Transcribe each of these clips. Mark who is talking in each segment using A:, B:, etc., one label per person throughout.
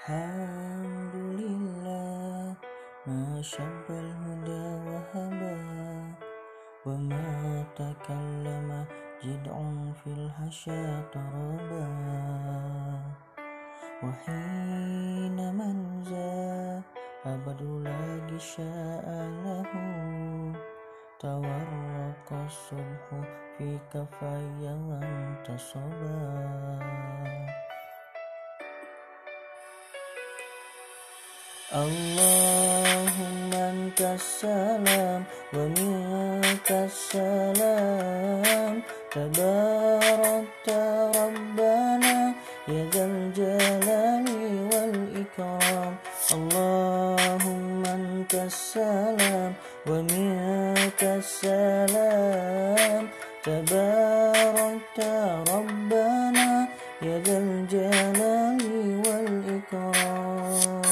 A: Alhamdulillah, ma syabbal huda wa haba, wa ma takallama jid'un fil hasya taraba, wa hina manza abadu lagi sya'alahu, tawarraqa subhu fi kafayawan tasaba. Allahumma antas salam wa minkas salam, tabarakta rabbana ya dzal jalali wal ikram. Allahumma antas salam wa minkas salam, tabarakta rabbana ya dzal jalali wal ikram.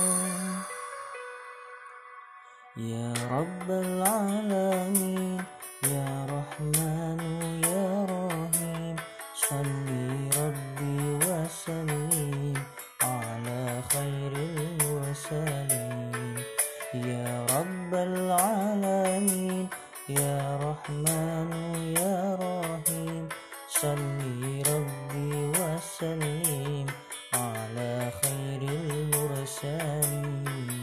A: Ya Rabbal Alamin, Ya Rahmanu Ya Rahim, Salli Rabbi wa sallim ala khairil mursalin. Ya Rabbal Alamin, Ya Rahmanu Ya Rahim, Salli Rabbi wa sallim ala khairil mursalin.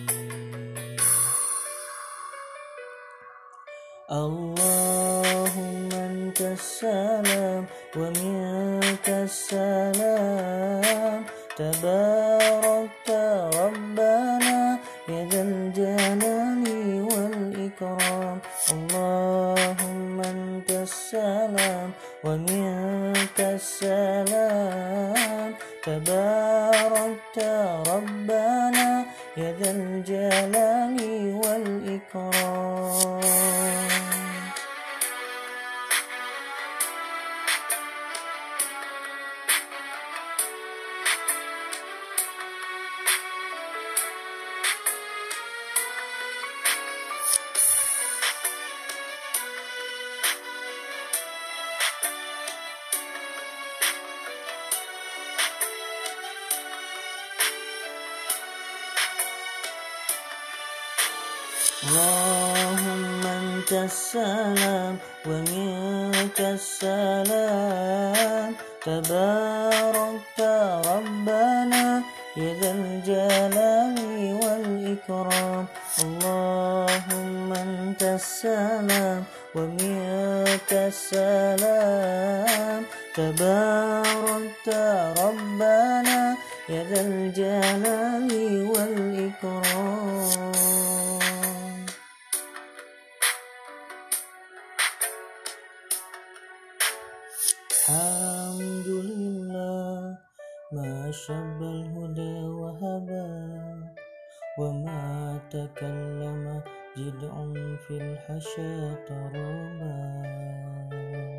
A: Allahumma antas salam wa minkas salam, tabarakta rabbana ya dzal jalali wal ikram. Allahumma antas salam wa minkas salam, tabarakta rabbana ya dzal jalali wal ikram. Allahumma antas salam wa minkas salam, tabarakta rabbana ya dzal jalali wal ikram. Allahumma antas salam wa minkas salam, tabarakta rabbana ya dzal jalali wal ikram. Alhamdulillah, ma syabbal huda wa haba, wa ma takallama jid'un fil hasya taraba.